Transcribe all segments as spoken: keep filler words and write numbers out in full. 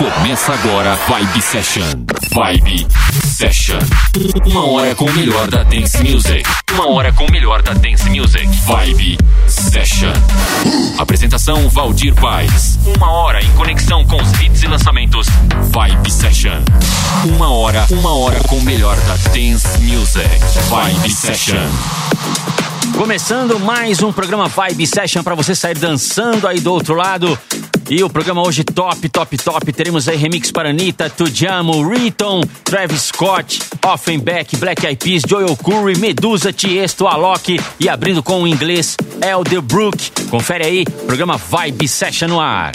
Começa agora Vibe Session. Vibe Session. Uma hora com o melhor da Dance Music. Uma hora com o melhor da Dance Music. Vibe Session. Apresentação Valdir Paes. Uma hora em conexão com os hits e lançamentos. Vibe Session. Uma hora, uma hora com o melhor da Dance Music. Vibe Session. Começando mais um programa Vibe Session para você sair dançando aí do outro lado. E o programa hoje top, top, top. Teremos aí remix para Anitta, Tujamo, Riton, Travis Scott, Offenbach, Black Eyed Peas, Joel Curry, Medusa, Tiesto, Alok e abrindo com o inglês Elderbrook. Confere aí, programa Vibe Session no ar.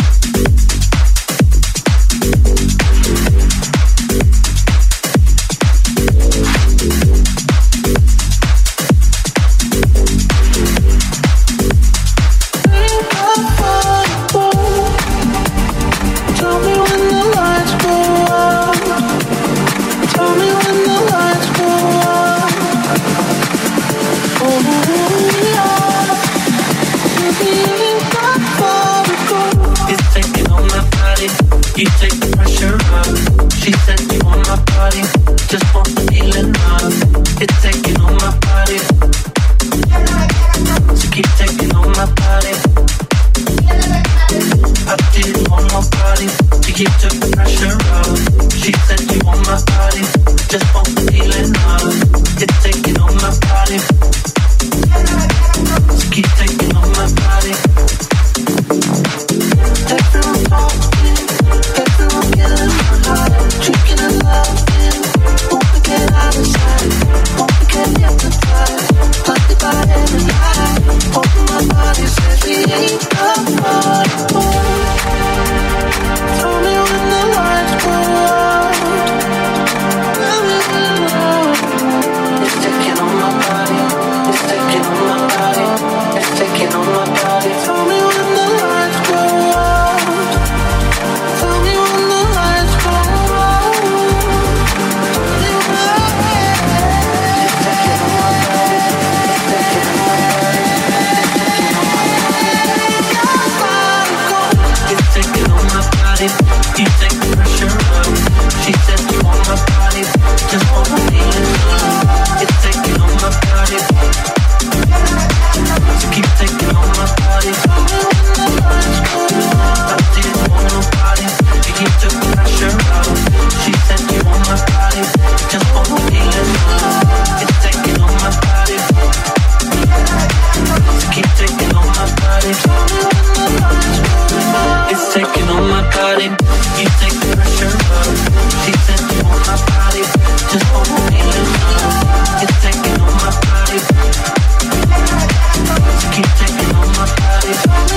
You take the pressure off. She said you want my body, just want the feeling of. It's taking on my body, so keep taking on my body. I didn't want nobody to keep the pressure off. She said you want my body, just want the feeling of. It's taking on my body, so keep taking on my body. Everyone wants me. Everyone getting my heart, drinking and loving. Won't forget out of sight, won't forget hypnotized. Blinded by every lie, open my body says we ain't apart. Tell me when the lights go out. Tell me when the lights. It's taking on my body, it's taking on my body, it's taking on my body. Tell me when the lights go out. You take the pressure off. She said you want my body, just want the feeling of. It's taking on my body, so keep taking on my body. I didn't want nobody to keep the pressure off. She said you want my body, just want the feeling of. It's taking on my body, so keep taking on my body. It's taking on my body. You take the pressure off. She said you want my body, just want the feeling of. It's taking on my body, so keep taking on my body.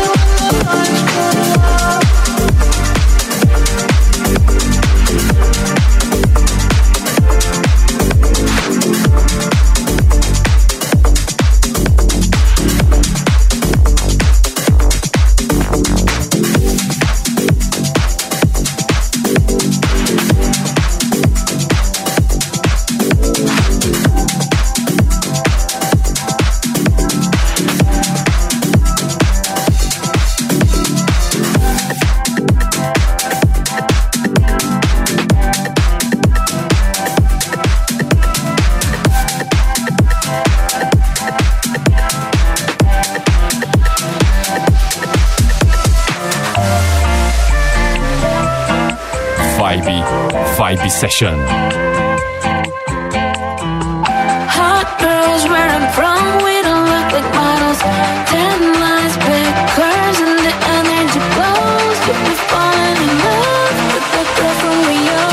Vibe Session. Hot girls wearing prom, we don't look like models. Ten lines, big curves, and the energy glows. You'll be falling in love with the girl from Rio.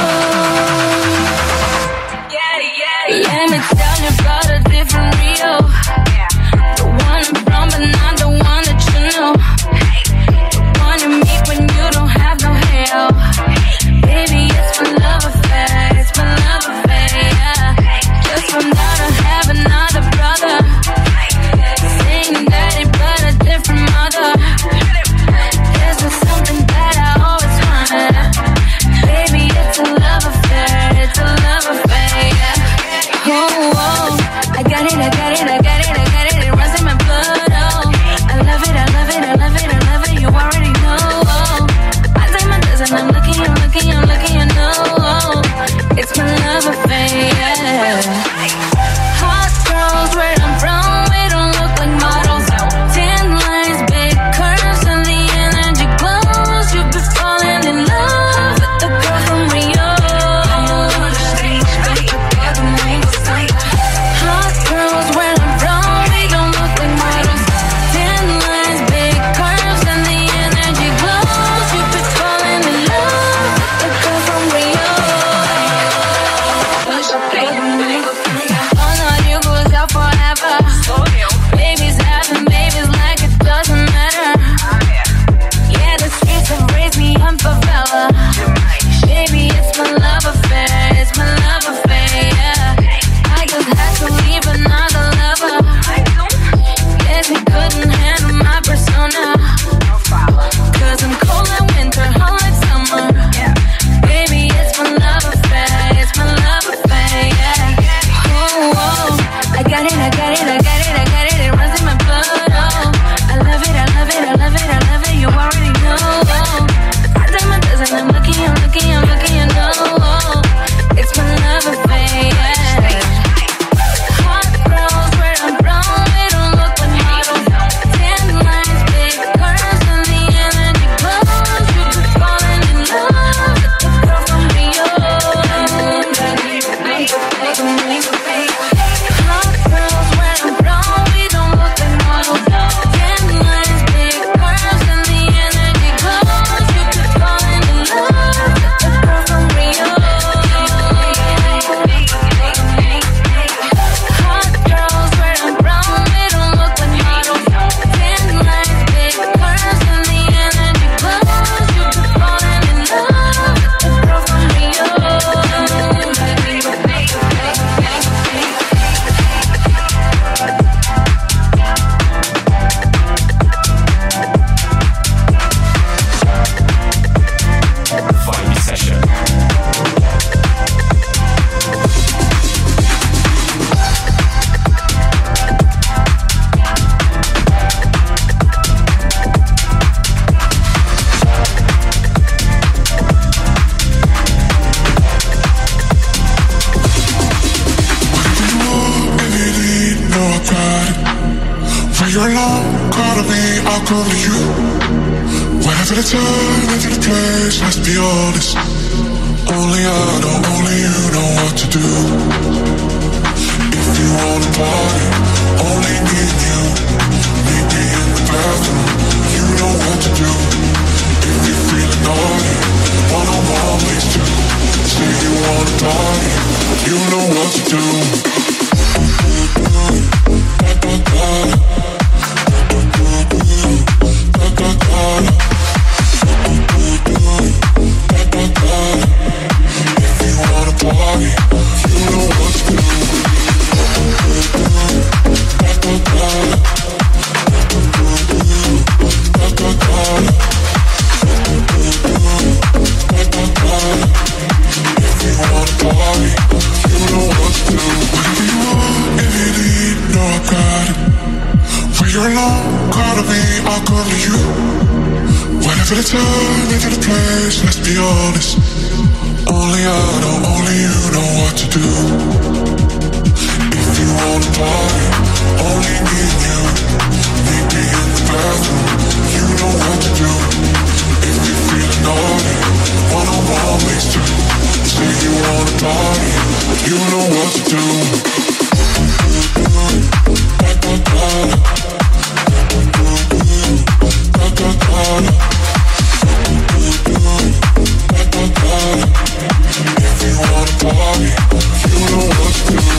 Yeah, yeah, let me tell you about a different Rio. The one I'm from, but not the one that you know. The one you meet when you don't have no hair. Baby, it's my love affair, it's my love the time, every place, let's be honest. Only I know, only you know what to do. If you wanna party, only me and you. Meet me in the bathroom, you know what to do. If you're feeling naughty, one-on-one ways to. Say you wanna party, you know what to do. If you wanna party, you know what to do. If you wanna party, you know what to do. Whatever you want, if you need, know I got it. When you're alone, call to me, I'll come to you. Whatever the time, whatever the place, let's be honest. Only I know, only you know what to do. If you wanna party, only me and you. Meet me in the bathroom, you know what to do. If you're feeling naughty, one-on-one ways to. Say you wanna party, you know what to do. If you wanna party, you know what to do.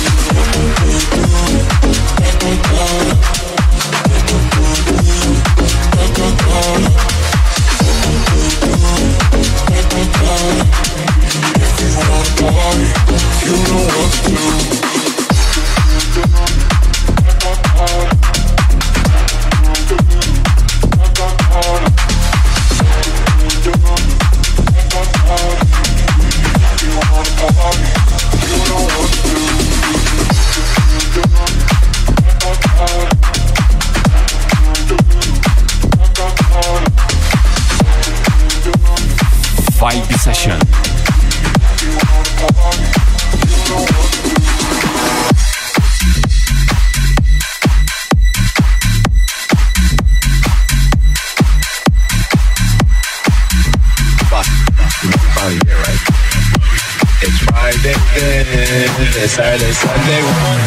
If you wanna party, you know what to do. Vibe Session. It's Friday then, it's Saturday, Sunday.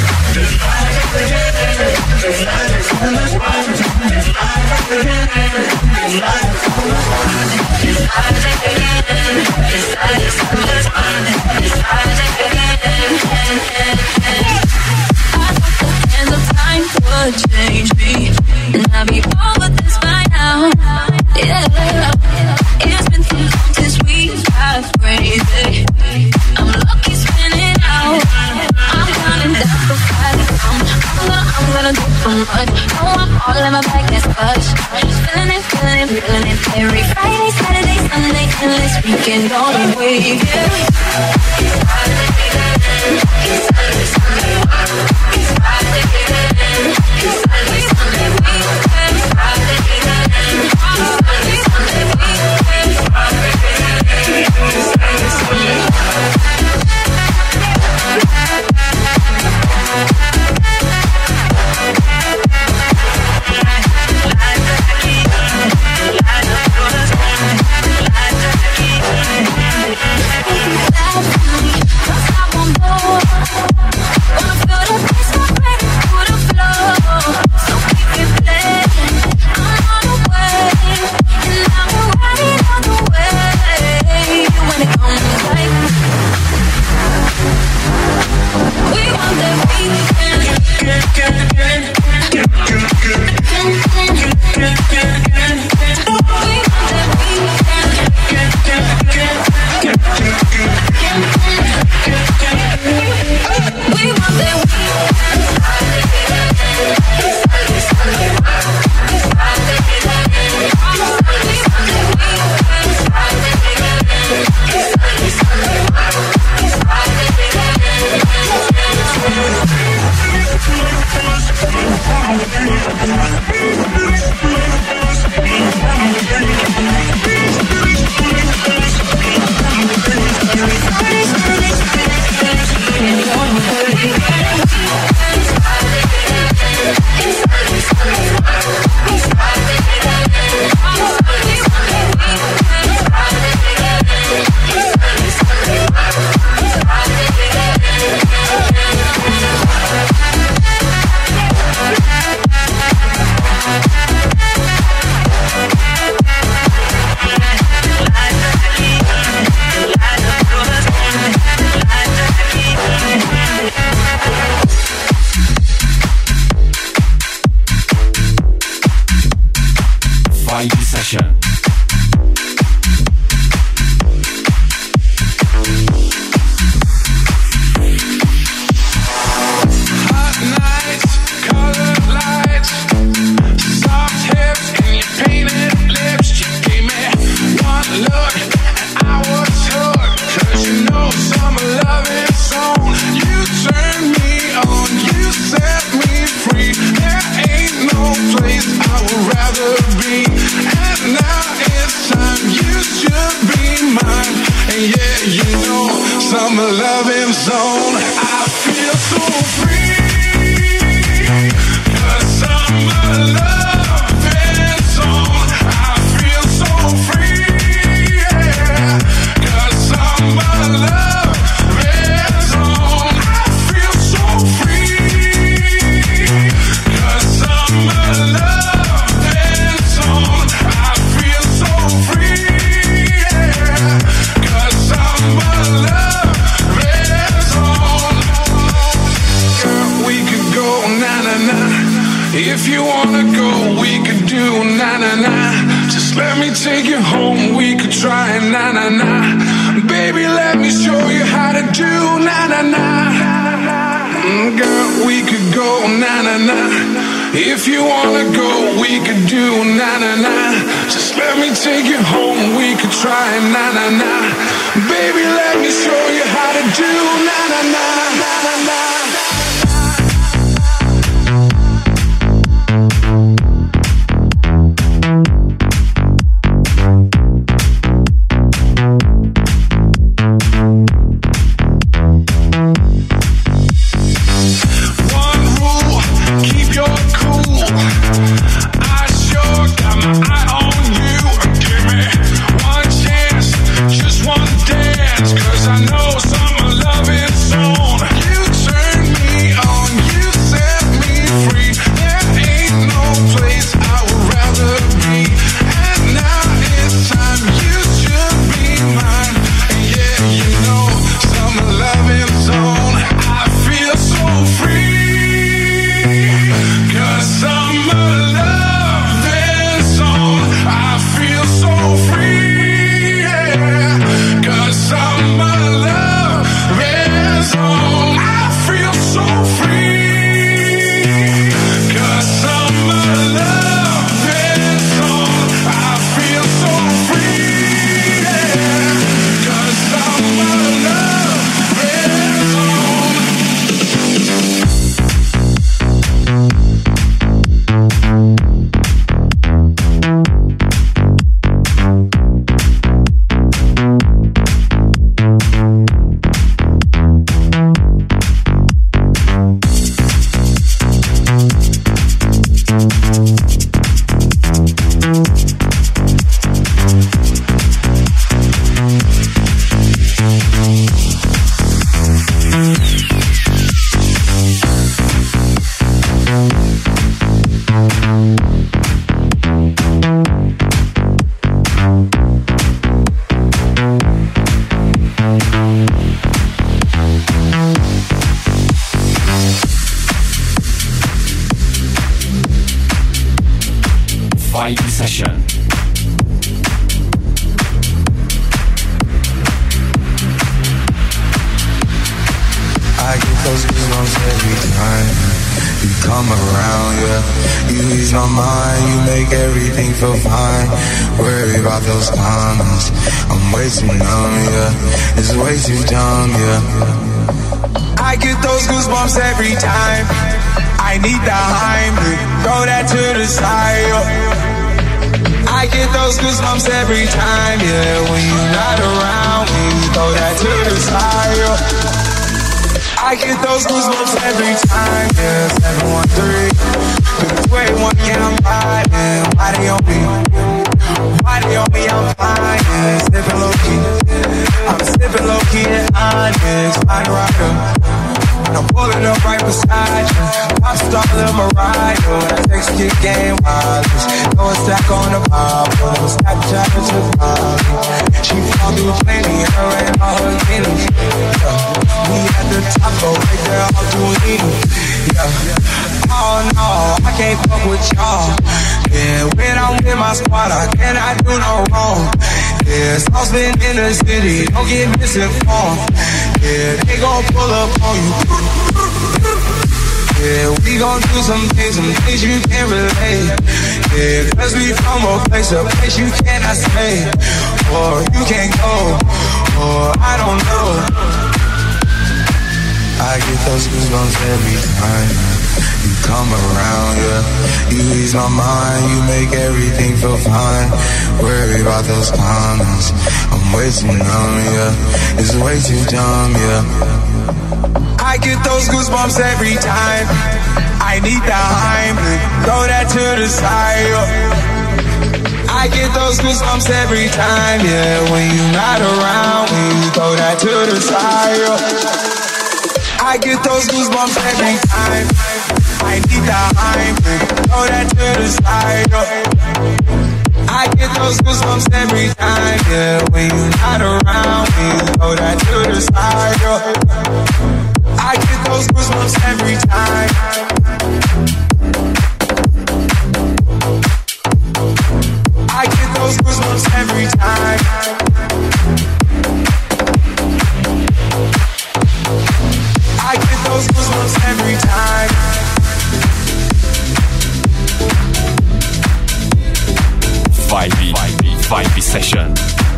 And the time would change me, and I'd be over this by now. Yeah, it's been too long since we got crazy. I'm lucky spinning out. I'm counting down the Friday. I'm gonna, I'm gonna do so much. No, I'm all in my bag, that's push. Feeling it, feeling it, feeling it. Every Friday, Saturday, Sunday, and this weekend on the way. summer loving zone. I feel so free. Cause summer loving zone. I feel so free. Yeah. Cause summer loving zone. I feel so free. Cause summer loving zone. I feel so free. Yeah. Cause summer loving zone. Girl, we could go na na na. If you wanna go, we could do na na na. Just let me take you home, we could try na na na. Baby, let me show you how to do na na na. Mm, girl, we could go na na na. If you wanna go, we could do na na na. Just let me take you home, we could try na na na. Baby, let me show you how to do na na na na na na. Vibe Session. I get those goosebumps every time you come around, yeah. You ease my mind, you make everything feel fine. Worry about those comments, I'm way too numb, yeah. It's way too dumb, yeah. I get those goosebumps every time. I need the Heimlich, throw that to the side, yeah. I get those goosebumps every time, yeah. When you're not around, when you throw that to the side, yeah. I get those goosebumps every time, yeah. seven one three, two eight one, yeah, I'm riding. Why they on me? Why they on me? I'm flying, yeah. Sipping low key, I'm sipping low key and honest. Find a rider, I'm pulling up right beside you. Pop star Lil Mariah, that next kick game wireless. Throw a stack on the Bible, Snapchat to the Bible. She fall through plenty, her and all her feelings. We at the top, go right there, all doing it. Yeah. Oh no, I can't fuck with y'all. Yeah, when I'm with my squad, I cannot do no wrong. Yeah, sauce been in the city, don't get misinformed. Yeah, they gon' pull up on you. Yeah, we gon' do some things, some things you can't relate. Yeah, cause we from a place, a place you cannot stay. Or you can't go, or I don't know. I get those goosebumps every time You come around, yeah. You ease my mind, you make everything feel fine. Worry about those comments, I'm way too numb, yeah. It's way too dumb, yeah. I get those goosebumps every time. I need the Heimlich, throw that to the side, yeah. I get those goosebumps every time, yeah. When you're not around, when you throw that to the side, yeah. I get those goosebumps every time. I need the Heimlich, throw that to the side, yeah. I get those goosebumps every time, yeah. When you're not around, when you throw that to the side, yeah. I get those goosebumps every time. I get those goosebumps every time. I get those goosebumps every time. Vibe, vibe, vibe session.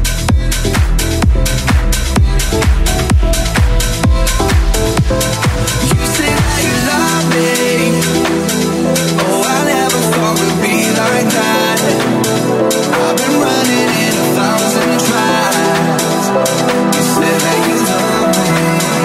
You say that you love me. Oh, I never thought we'd be like that. I've been running in a thousand tries. You said that you love me.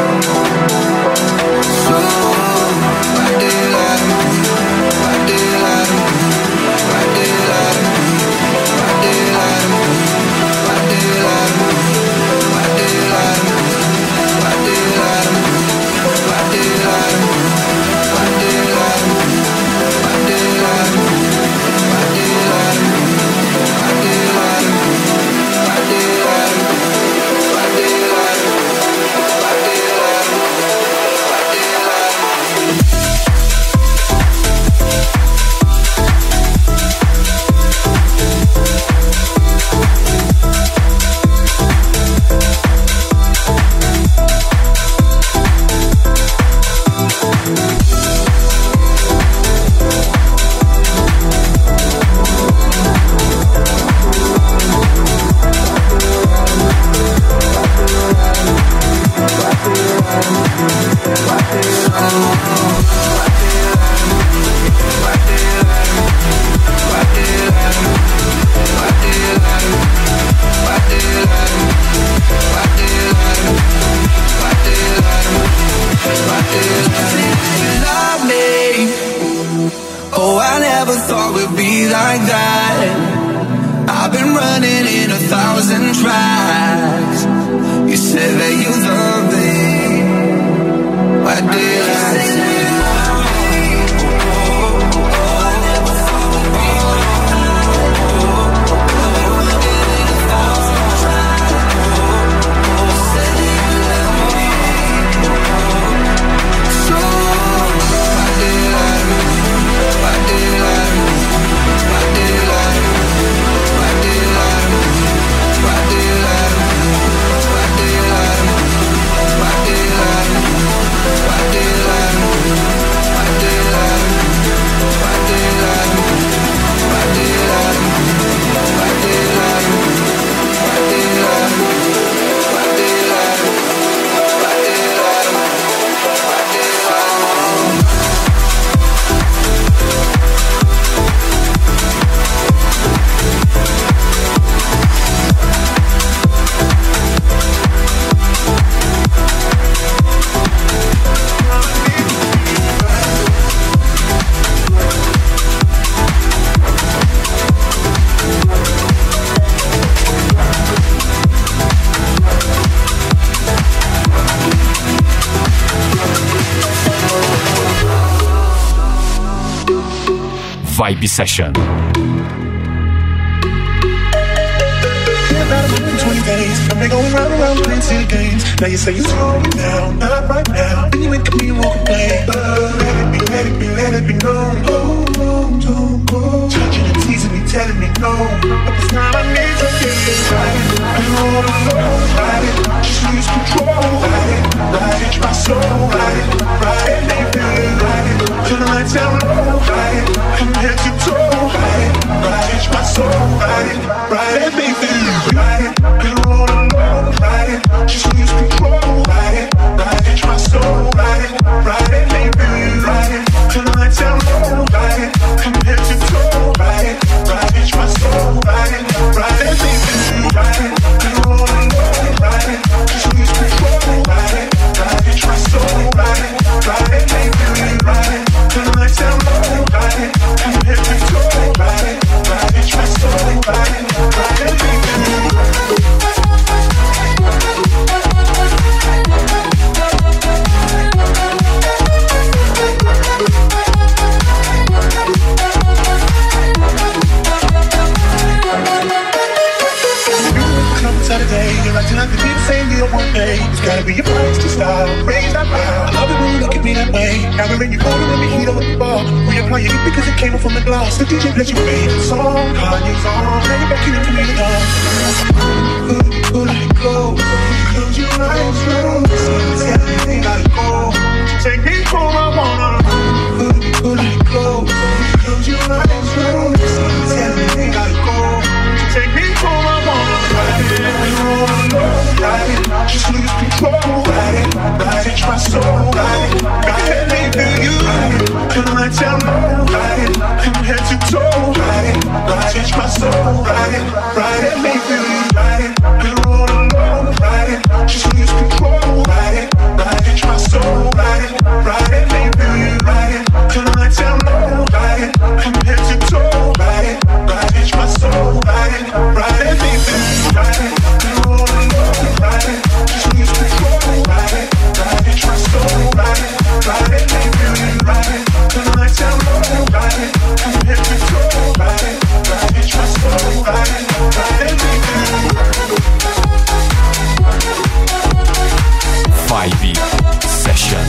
So why did you lie to me? Why did you lie to me? Why did you lie to me? Why did you lie to me? Why did you lie to me? Why did you lie to me? Why did you lie to me? Why did you lie to me? Why did you lie to me? Why did you lie to me? Why did you lie to me? Why did you lie to me? Why did you lie to me? Why did you lie to me? Why did you lie to me? Why did you lie to me? Vibe Session. twenty days, I've been going round and round playing silly games. Now you say you're slowing down, not right now. Then you wake up and you won't complain. But let it be, let it be, let it be known. Oh, oh, don't go. Touching and teasing me, telling me no. But this time I need to get it right. I'm all alone, ride it. Just lose control, ride it. Ride it, my soul, ride it. Ride it, make me ride it. Till the lights down low, ride it. From head to toe, ride it. Ride it, my soul, ride it. Ride it, make me ride it. I'm all alone, ride it. Just lose control, ride it. Ride it, my soul, ride it. Ride it, make me ride it. Till the lights till I could be the same year one day. It's gotta be your price to style, raise that bar. I love it when you look at me that way. Now when you hold it when we heat up the bar, reapply it because it came up from the glass. The D J plays your favorite song, Kanye's on. Now you're backing into me now. Could it, could it go? Close your eyes, slow. Tell me they gotta go. Take me home, I wanna. Could it, could it go? Close your eyes, slow. Tell me they gotta go. Take me home, I wanna. Ride it, ride it, just lose control. Ride it, ride it, my soul. Ride it, ride me feel you. Till I tell no. Ride it, from head to toe. Ride it, ride it, my soul. Ride it, ride me feel you. Ride it, we're all alone. Ride it, just lose control. Ride it, ride it, my soul. Ride it, ride me feel you. Ride it, till I tell no. Ride it, from head to toe. Ride it, ride it, my soul. Ride it, ride me feel you. Ride it, we're all alone. Ride it, just lose control. Ride it, ride it, my soul. Ride it, ride me feel you. Ride it, till I tell no. Ride it, from head to toe. Ride it, ride it, my soul. Ride it, ride me feel you. Vibe Session.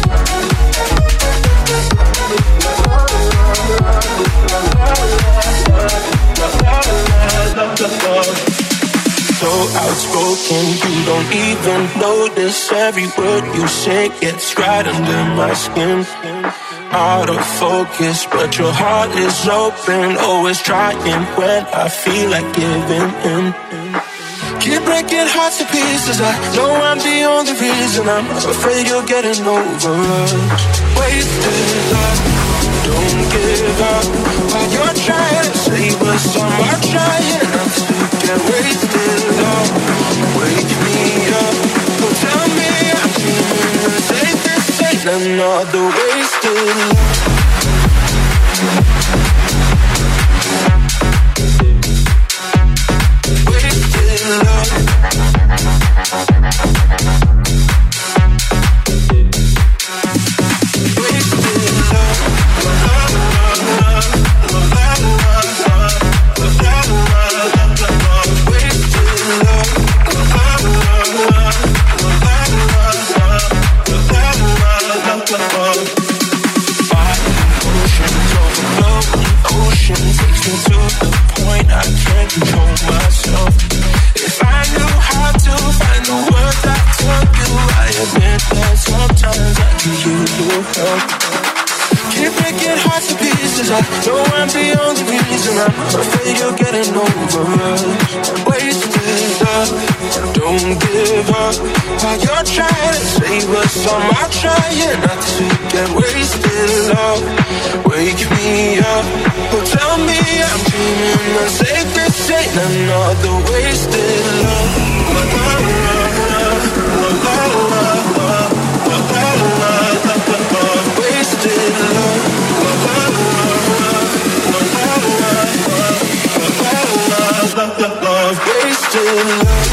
So outspoken, you don't even notice. Every word you say gets right under my skin. Out of focus, but your heart is open. Always trying when I feel like giving in. Keep breaking hearts to pieces. I know I'm the only reason. I'm afraid you're getting over us. Wasted love, don't give up. While you're trying to save us, I'm trying not to get wasted love. Wake me up, don't tell me I'm dreaming. The safest ain't another wasted love. Keep breaking hearts to pieces. I know I'm the only reason. I'm afraid you're getting over us. Wasted love, don't give up. While you're trying to save us, I'm trying not to get wasted love. Wake me up, oh tell me I'm dreaming. The safest ain't another wasted love. Wasted love. Wasted love.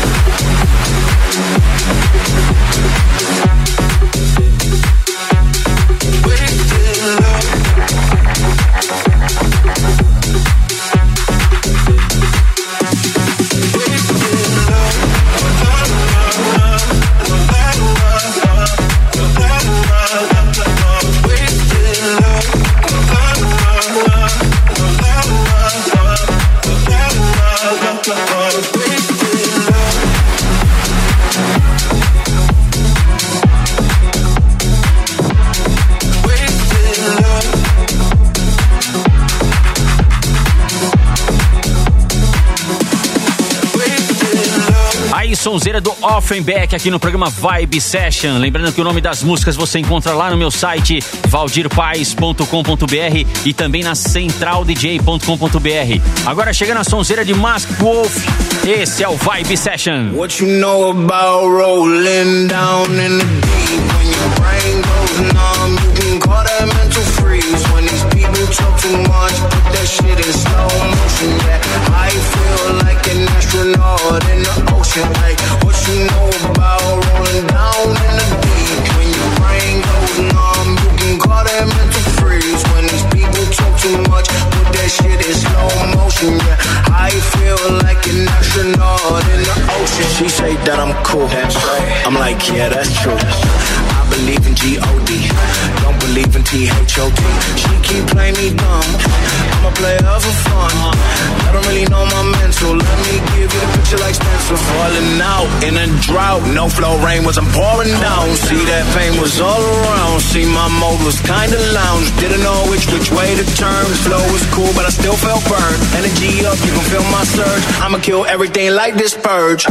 Sonzeira do Offenbach aqui no programa Vibe Session. Lembrando que o nome das músicas você encontra lá no meu site valdir paes ponto com ponto b r e também na central d j ponto com ponto b r. Agora chegando a sonzeira de Masked Wolf. Esse é o Vibe Session. What you know about rolling down in the deep? When your brain goes numb, you can call that mental freeze. When these people talk too much, put that shit in slow motion. Yeah, I feel like an astronaut in the ocean. Like, what you know about rolling down in the deep? When your brain goes numb, you can call that mental freeze. When these people talk too much, put that shit in slow motion. Yeah, I feel like an astronaut astronaut in the ocean. She say that I'm cool. That's right. I'm like, yeah, that's true. I believe in G O D, don't believe in T H O T. She keep playing me dumb, I'm a player for fun. I don't really know my mental, let me give you a picture like Spencer. Falling out in a drought, no flow, rain wasn't pouring down. See that pain was all around, see my mode was kinda lounge. Didn't know which which way to turn, flow was cool but I still felt burned. Energy up, you can feel my surge, I'ma kill everything like this purge.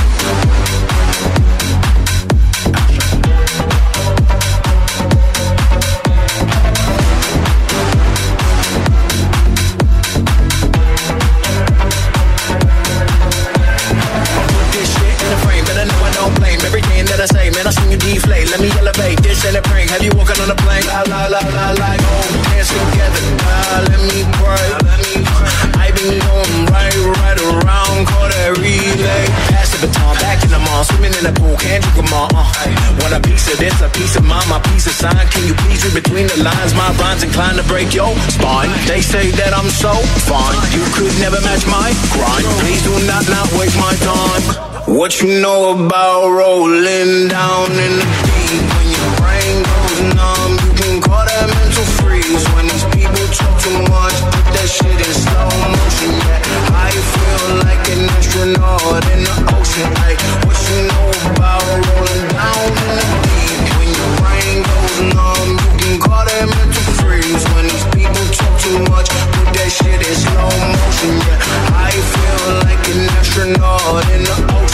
Man, I sing you deflate, let me elevate. This ain't a prank, have you walking on a plane? La la la la la, oh, dance together. Ah, let me pray, let me pray. I been going right, right around, call that relay. Pass the baton, back in the mall, swimming in the pool, can't drink them all. Uh. Want a piece of this, a piece of mine, my piece of sign. Can you please read between the lines? My rhymes inclined to break your spine. They say that I'm so fine, you could never match my grind. Please do not not waste my time. What you know about rolling down in the deep? When your brain goes numb, you can call that mental freeze. When these people talk too much, put that shit in slow motion. Yeah, I feel like an astronaut in the ocean. Like, what you know about rolling down in the deep? When your brain goes numb, you can call that mental freeze. When these people talk too much, put that shit in slow motion. Yeah, I feel like an astronaut in the ocean.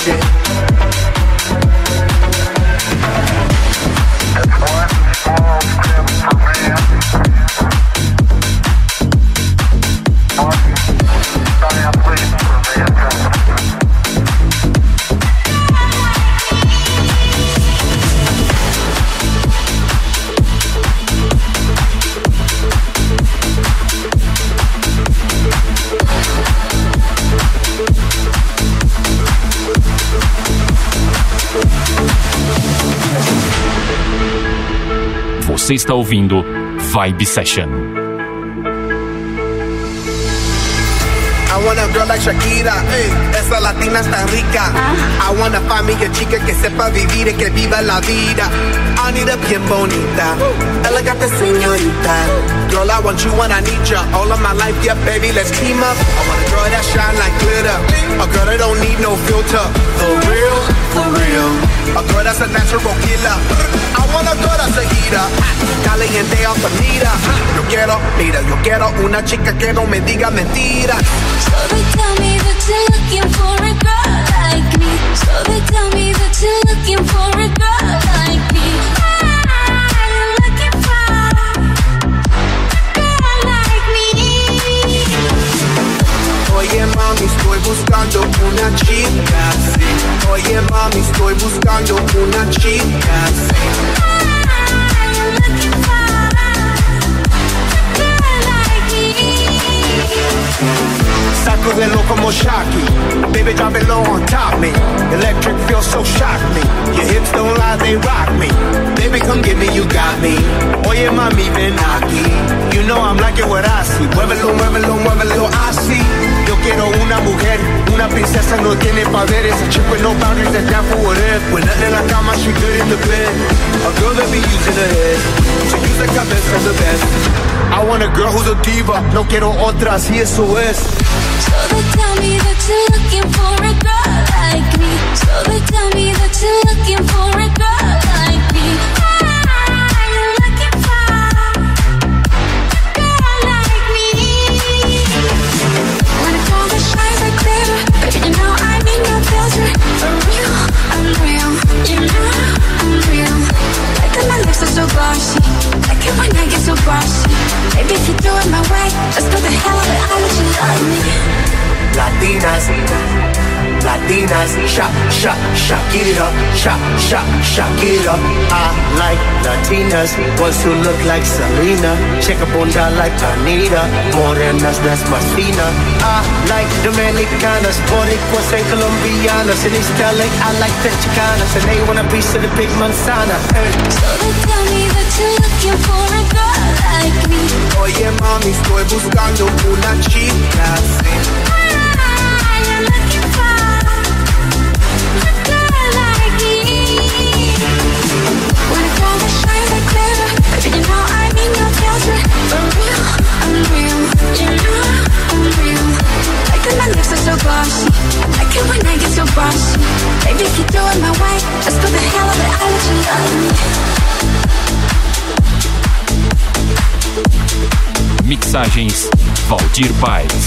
Você está ouvindo Vibe Session. I want a girl like Shakira, ey, esa latina está rica. I wanna find me a chica que sepa vivir y que viva la vida. I need a bien bonita, elegante señorita. Girl, I want you when I need ya. All of my life, yeah, baby, let's team up. I want a girl that shine like glitter, a girl that don't need no filter. For real, for real, a girl that's a natural killer. I want a girl that's a heater, caliente altamira. Yo quiero, mira, yo quiero una chica que no me diga mentiras. So they tell me that you're looking for a girl like me. So they tell me that you're looking for a girl like me. I'm looking for a girl like me. Oye mami, estoy buscando una chica, sí. Oye mami, estoy buscando una chica, sí. I'm looking for a girl like me. Sacudelo como Shocky, baby drop it low on top me. Electric feels so shock me. Your hips don't lie, they rock me. Baby come get me, you got me. Oye mami ven aquí, you know I'm like it what I see. Muévelo, muévelo, muévelo así. Yo quiero una mujer, una princesa no tiene poderes. A chick with no boundaries that's down for whatever. When nothing in la cama, she good in the bed. A girl that be using her head, to use the cabeza the best. I want a girl who's a diva, no quiero otra, así eso es. So they tell me that you're looking for a girl like me. So they tell me that you're looking for a girl like me. I'm looking for a girl like me. When I call the shines are clear, baby, you know I need no filter. For real, I'm real. You know I'm real. Like that my lips are so glossy. Like it when I get so bossy. Baby, if you do it my way, let's go the hell of it. I'll let you love me. Latinas, Latinas, shock, shock, shock it up, shock, shock, shock it up. I like Latinas, ones who look like Selena, shake a bunda like Anita, morenas that's más fina. I like Dominicanas, Boricuas and Colombianas, in East L A I like the Chicanas, and they want a piece of the big manzana. Hey. So they tell me that you're looking for a girl like me. Oye mami, estoy buscando una chica, sí. I'm looking for mixagens, Valdir Paes.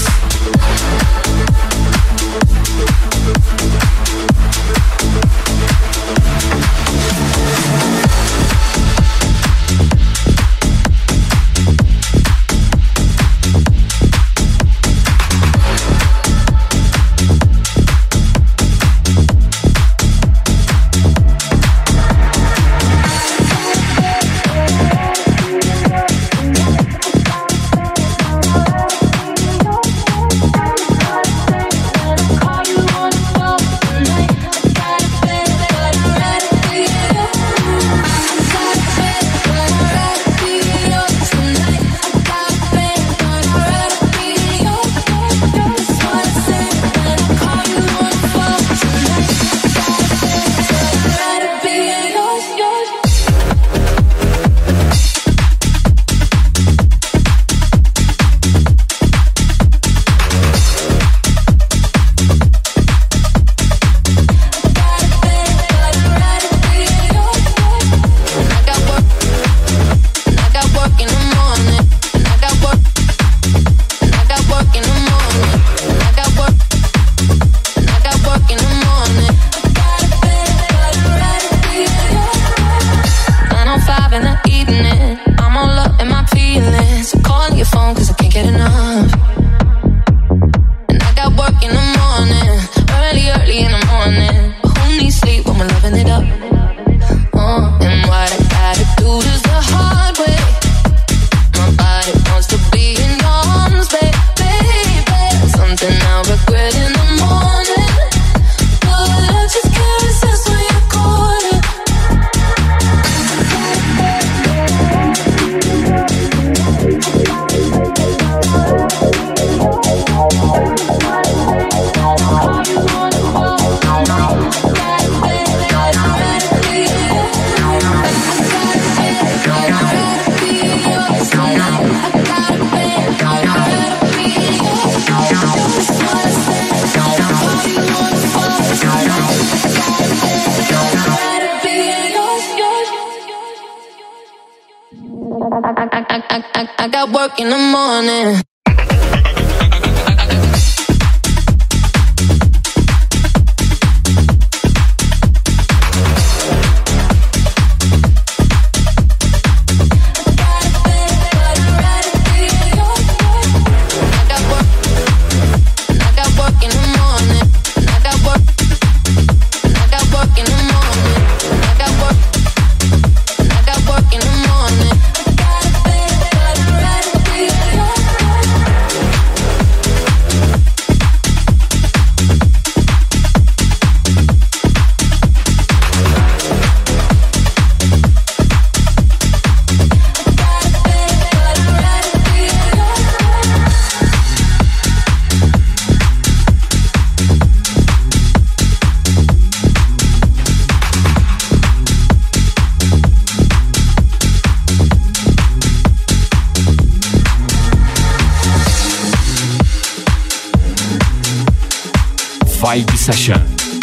I got work in the morning. Vibe Session.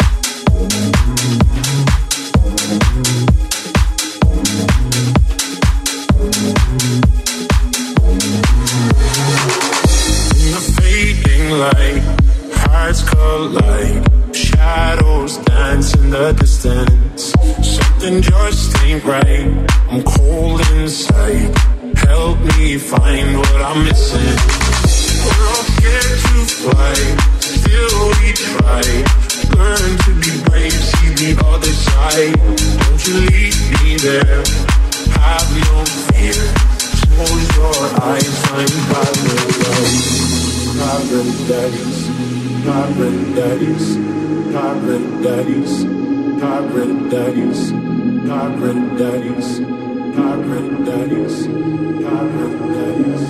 In the fading light, hearts collide, shadows dance in the distance. Something just ain't right, I'm cold inside. Help me find what I'm missing. We're all scared to fly, still we try. Learn to be brave, see the other side. Don't you leave me there, have no fear. Close your eyes, find paradise. Paradise, paradise, paradise, paradise, paradise, paradise, paradise.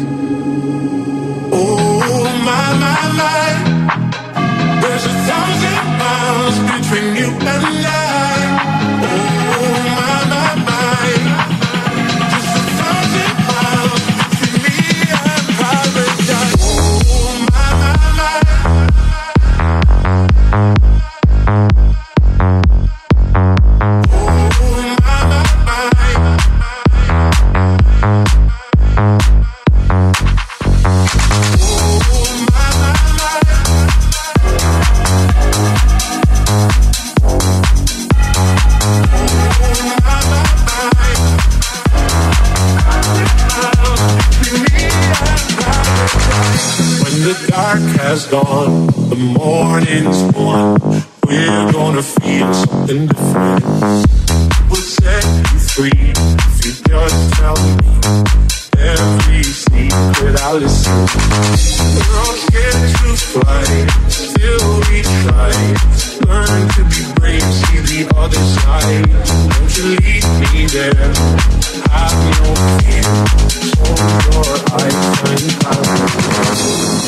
Oh my, my, my. There's a thousand miles between you and I. Oh my, my, my. Just a thousand miles between me and paradise. Oh my, my, my. Oh my, my, my. is gone, the morning's born. We're gonna feel something different. We'll set you free if you just tell me every secret I listen. We're all scared to fly, still we try. Learn to be brave, see the other side. Won't you lead me there? Have no fear. Close your eyes, find paradise.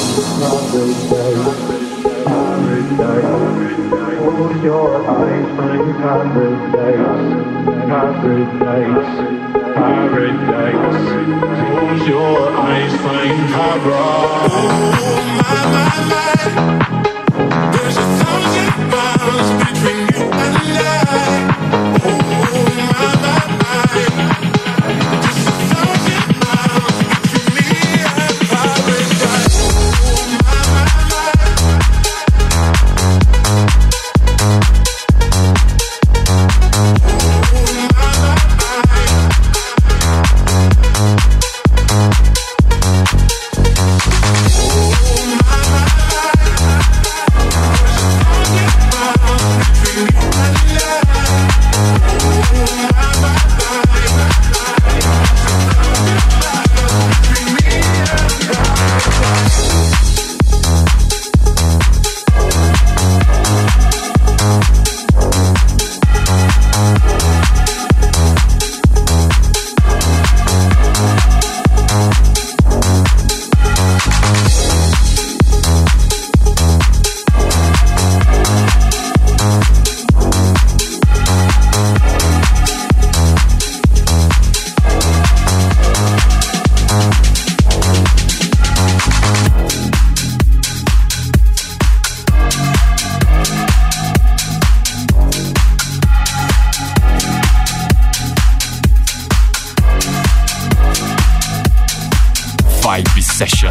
Close your eyes, find paradise. Paradise, paradise. Close your eyes, find paradise. Oh my, my, my. There's a thousand miles between you and I. Oh my, my, my. Just a thousand miles between me and paradise. Oh my, my, my. Vibe Session.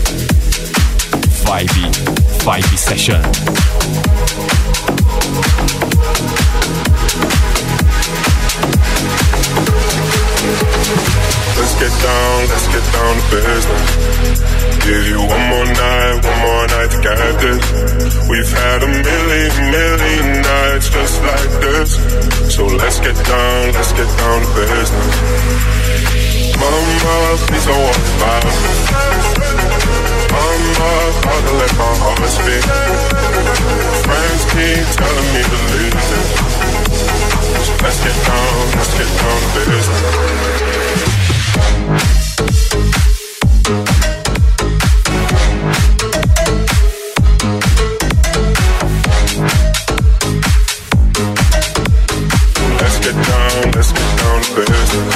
Vibe Session. down to business. Give you one more night, one more night to get this. We've had a million, million nights just like this. So let's get down, let's get down to business. Mama, please don't worry about me. Mama, about to let my heart speak. Friends keep telling me to leave this. So let's get down, let's get down to business. Let's get down, let's get down to business.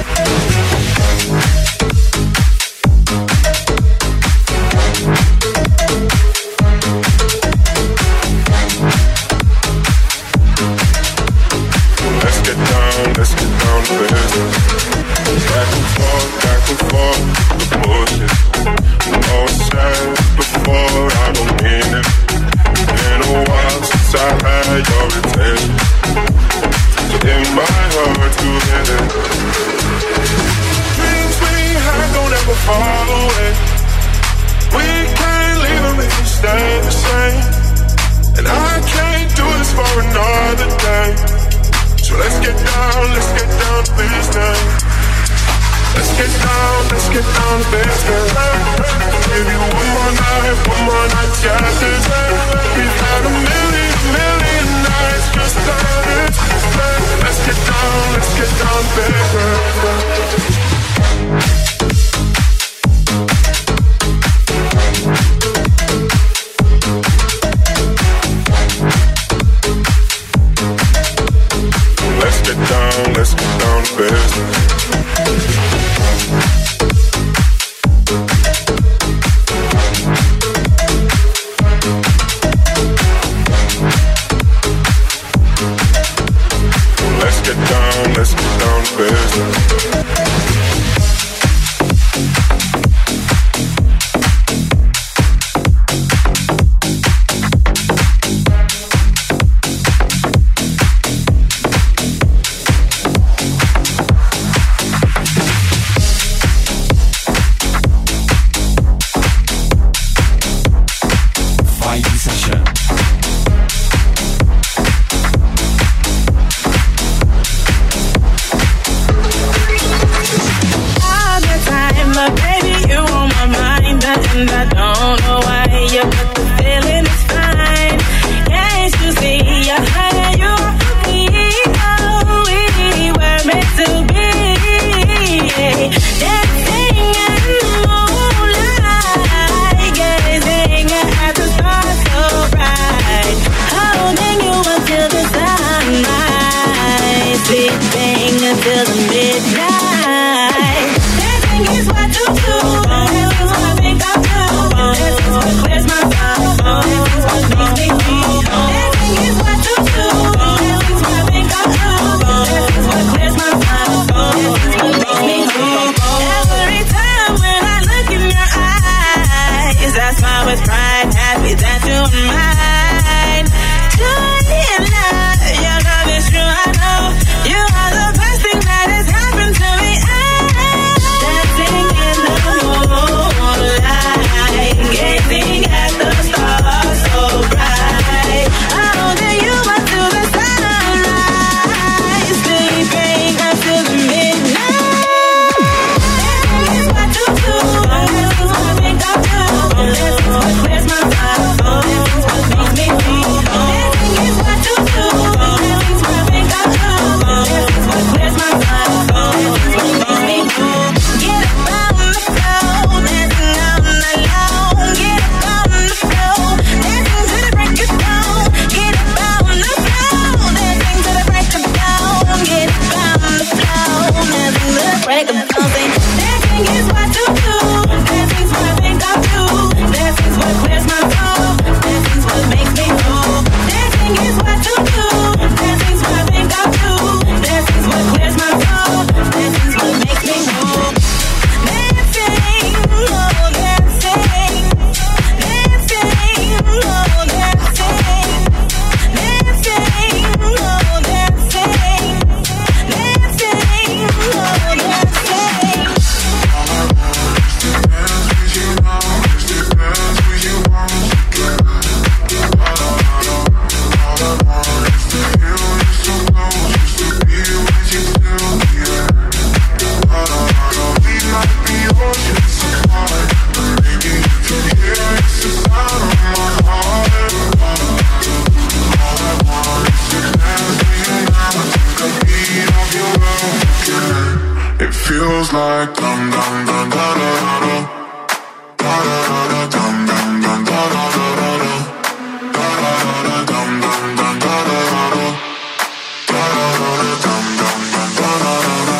Let's get down, let's get down to business. Back and forth, back and forth, the bullshit. All said before, I don't mean it. Been a while since I had your attention. In my heart to hit it. Dreams we had don't ever fall away. We can't leave them if we stay the same. And I can't do this for another day. So let's get down, let's get down to business. Let's get down, let's get down to business. Give you one more night, one more night, got this. We've had a million, million nights just like this. Let's get down, let's get down to business. Let's get down, let's get down to business. Let's get down, let's get down to business. feels like dum dum dum da da da da da da da dum dum dum da da da da da da da dum dum dum da da da da da da dum dum dum da da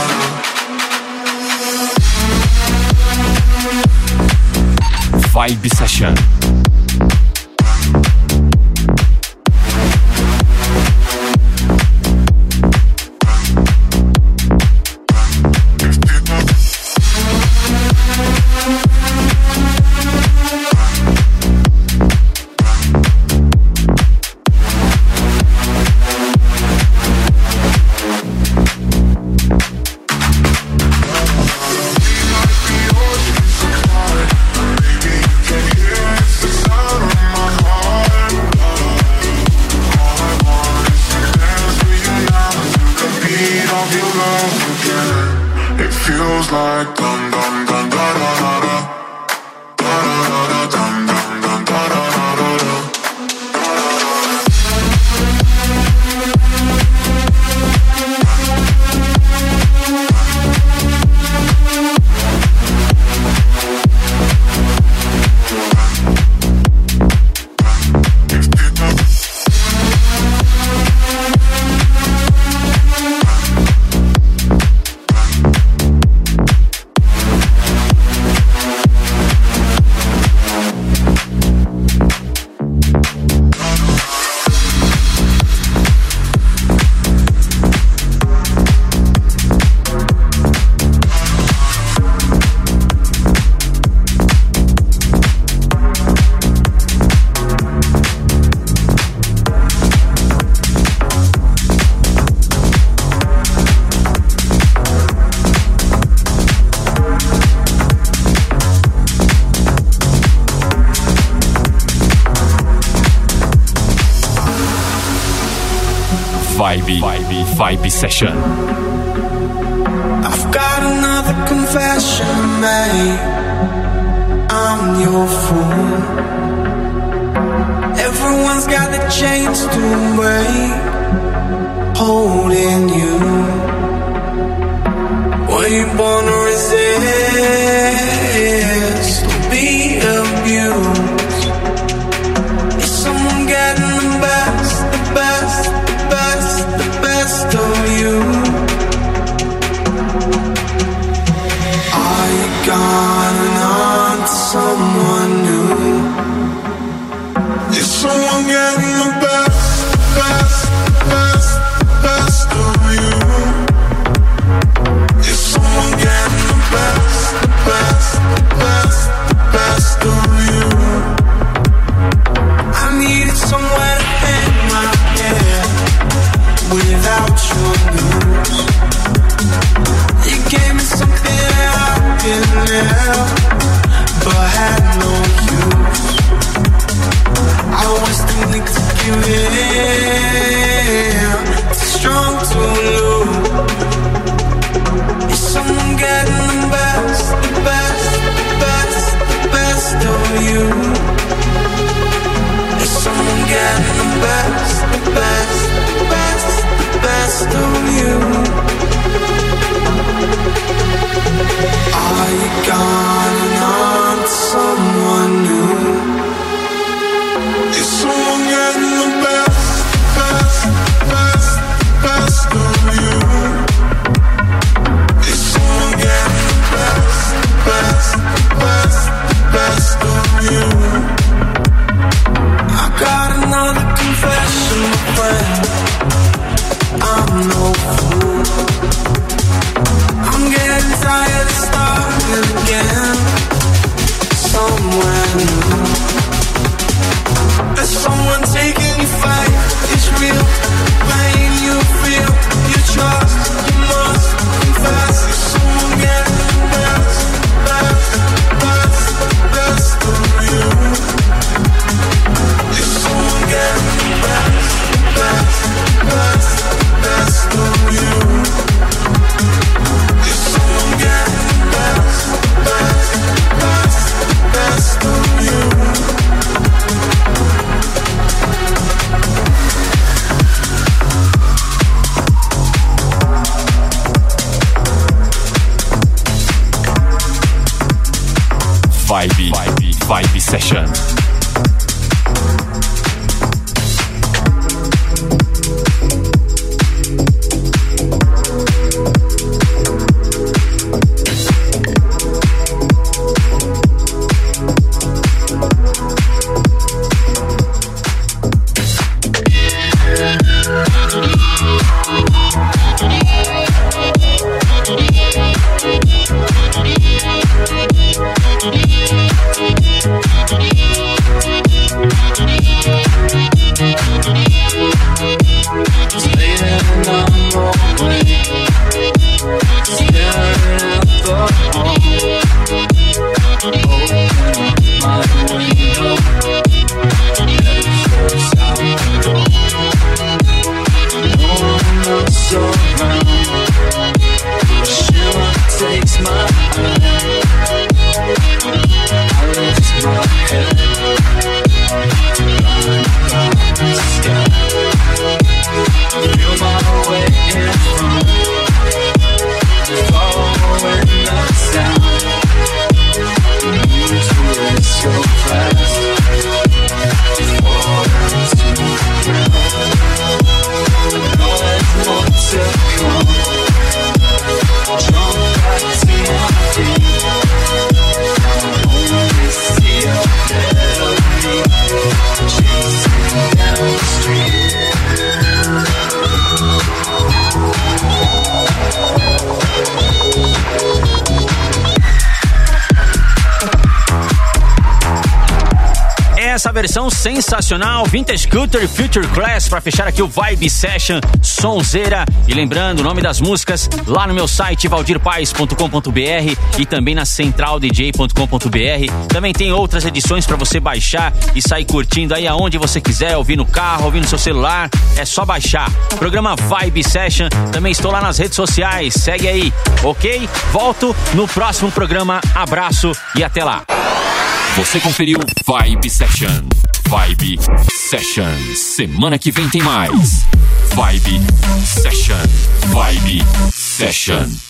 da da. Vibe Session. Vibe, Vibe, Vibe Session. I've got another confession to make. I'm your fool. Everyone's got the chains to break, holding you. Were you born to resist or be abused? Is someone getting the best, the best, the best, the best of you? Are you gone on to someone new? Is someone getting the best, best, best, best of you? Is someone getting the best, the Vibe, Vibe, Vibe Session. Essa versão sensacional, Vintage Culture e Future Class, para fechar aqui o Vibe Session, sonzeira. E lembrando, o nome das músicas lá no meu site valdir paes ponto com ponto b r e também na central d j ponto com ponto b r. Também tem outras edições para você baixar e sair curtindo aí aonde você quiser, ouvir no carro, ouvir no seu celular, é só baixar. Programa Vibe Session, também estou lá nas redes sociais, segue aí, ok? Volto no próximo programa, abraço e até lá. Você conferiu Vibe Session. Vibe Session. Semana que vem tem mais. Vibe Session. Vibe Session.